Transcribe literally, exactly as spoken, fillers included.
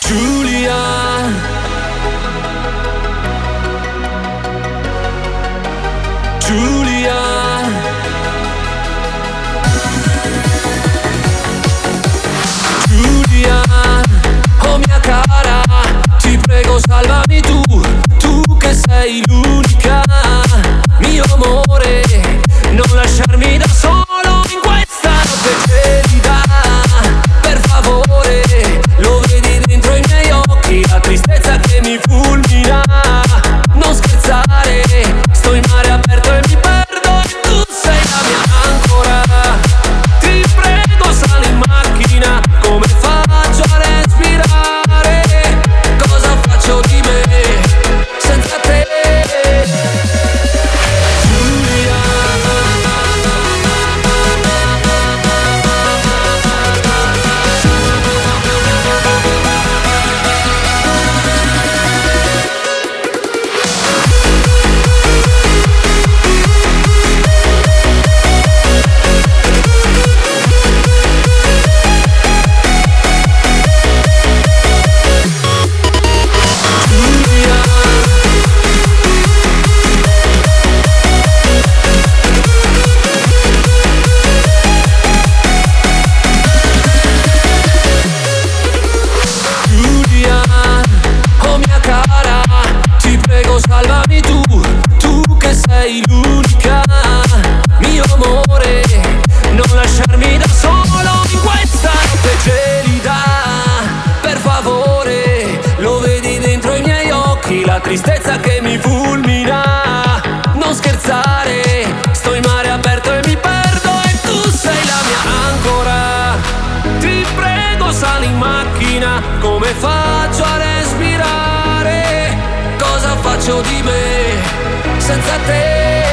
Giulia, Giulia, Giulia, oh mia cara, ti prego salvami tu, tu che sei l'unica, mio amore, non lasciarmi da solo in questa notte gelida, per favore, lo vedi dentro i miei occhi, la tristezza che mi fulmina, non scherzare, sto in mare aperto e mi perdo e tu sei la mia ancora, ti prego sali in macchina, come faccio a respirare, cosa faccio di me senza te? Giulia, Giulia, oh mia cara, ti prego salvami tu, tu che sei l'unica, mio amore, non lasciarmi da solo in questa notte gelida, per favore, lo vedi dentro i miei occhi, la tristezza che mi fulmina, non scherzare, sto in mare aperto e mi perdo e tu sei la mia ancora, ti prego sali in macchina, come faccio a respirare, cosa faccio di me senza te?